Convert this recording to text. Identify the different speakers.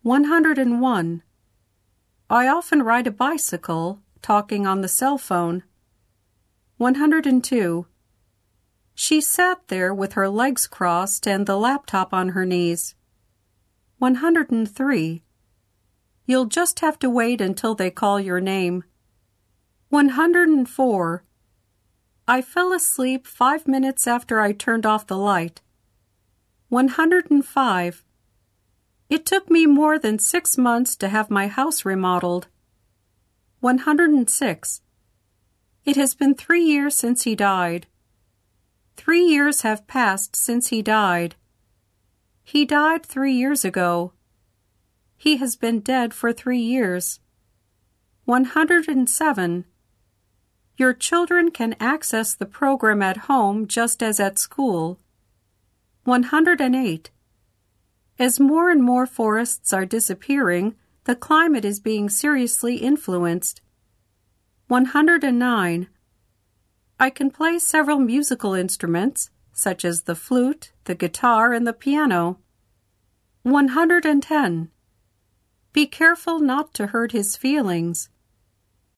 Speaker 1: 101. I often ride a bicycle, talking on the cell phone. 102. She sat there with her legs crossed and the laptop on her knees. 103. You'll just have to wait until they call your name. 104. I fell asleep 5 minutes after I turned off the light. 105. It took me more than 6 months to have my house remodeled. 106. It has been 3 years since he died. 3 years have passed since he died. He died 3 years ago. He has been dead for 3 years. 107. Your children can access the program at home just as at school. 108. As more and more forests are disappearing, the climate is being seriously influenced. 109. I can play several musical instruments, such as the flute, the guitar, and the piano. 110. Be careful not to hurt his feelings.